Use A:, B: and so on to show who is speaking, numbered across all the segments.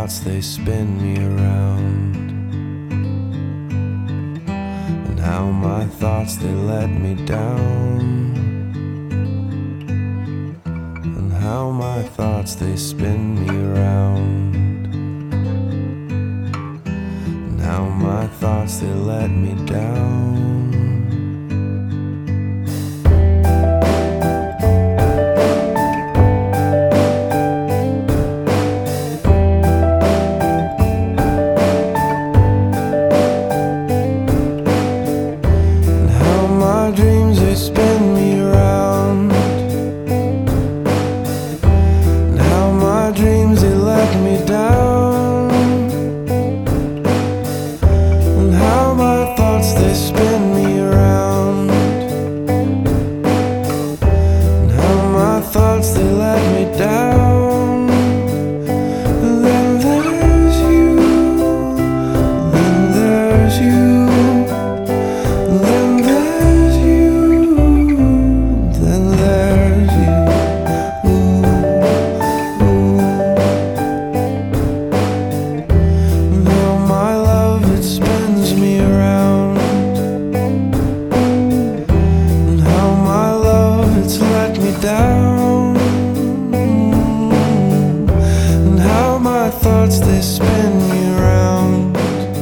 A: thoughts, they spin me around, and how my thoughts, they let me down, and how my thoughts, they spin me around, and how my thoughts, they let me down. Dreams, they spin me around, and how my dreams, they let me down, and how my thoughts, they spin me around, and how my thoughts, they let me down. And then there's you, then there's you, then there's down, and how my thoughts, they spin me around,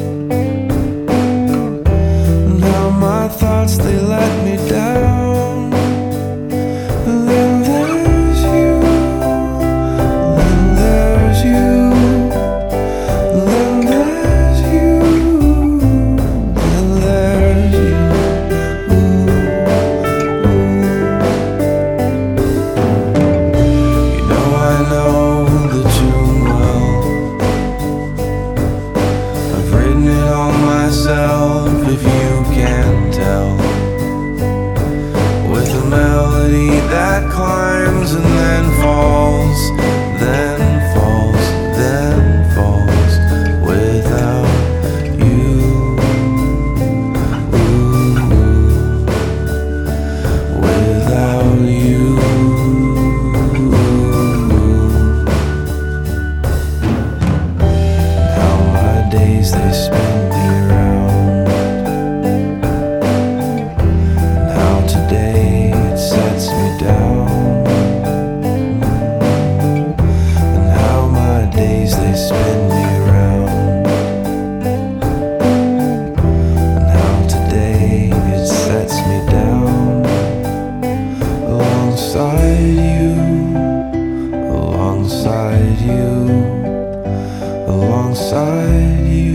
A: and how my thoughts, they let me down. And then there's you, then there's you, then there's you, then there's you. If you can tell, with a melody that climbs and then falls, then falls, then falls, without you. Without you. How my days, they spin me around, they spin me around, and how today it sets me down, alongside you, alongside you, alongside you.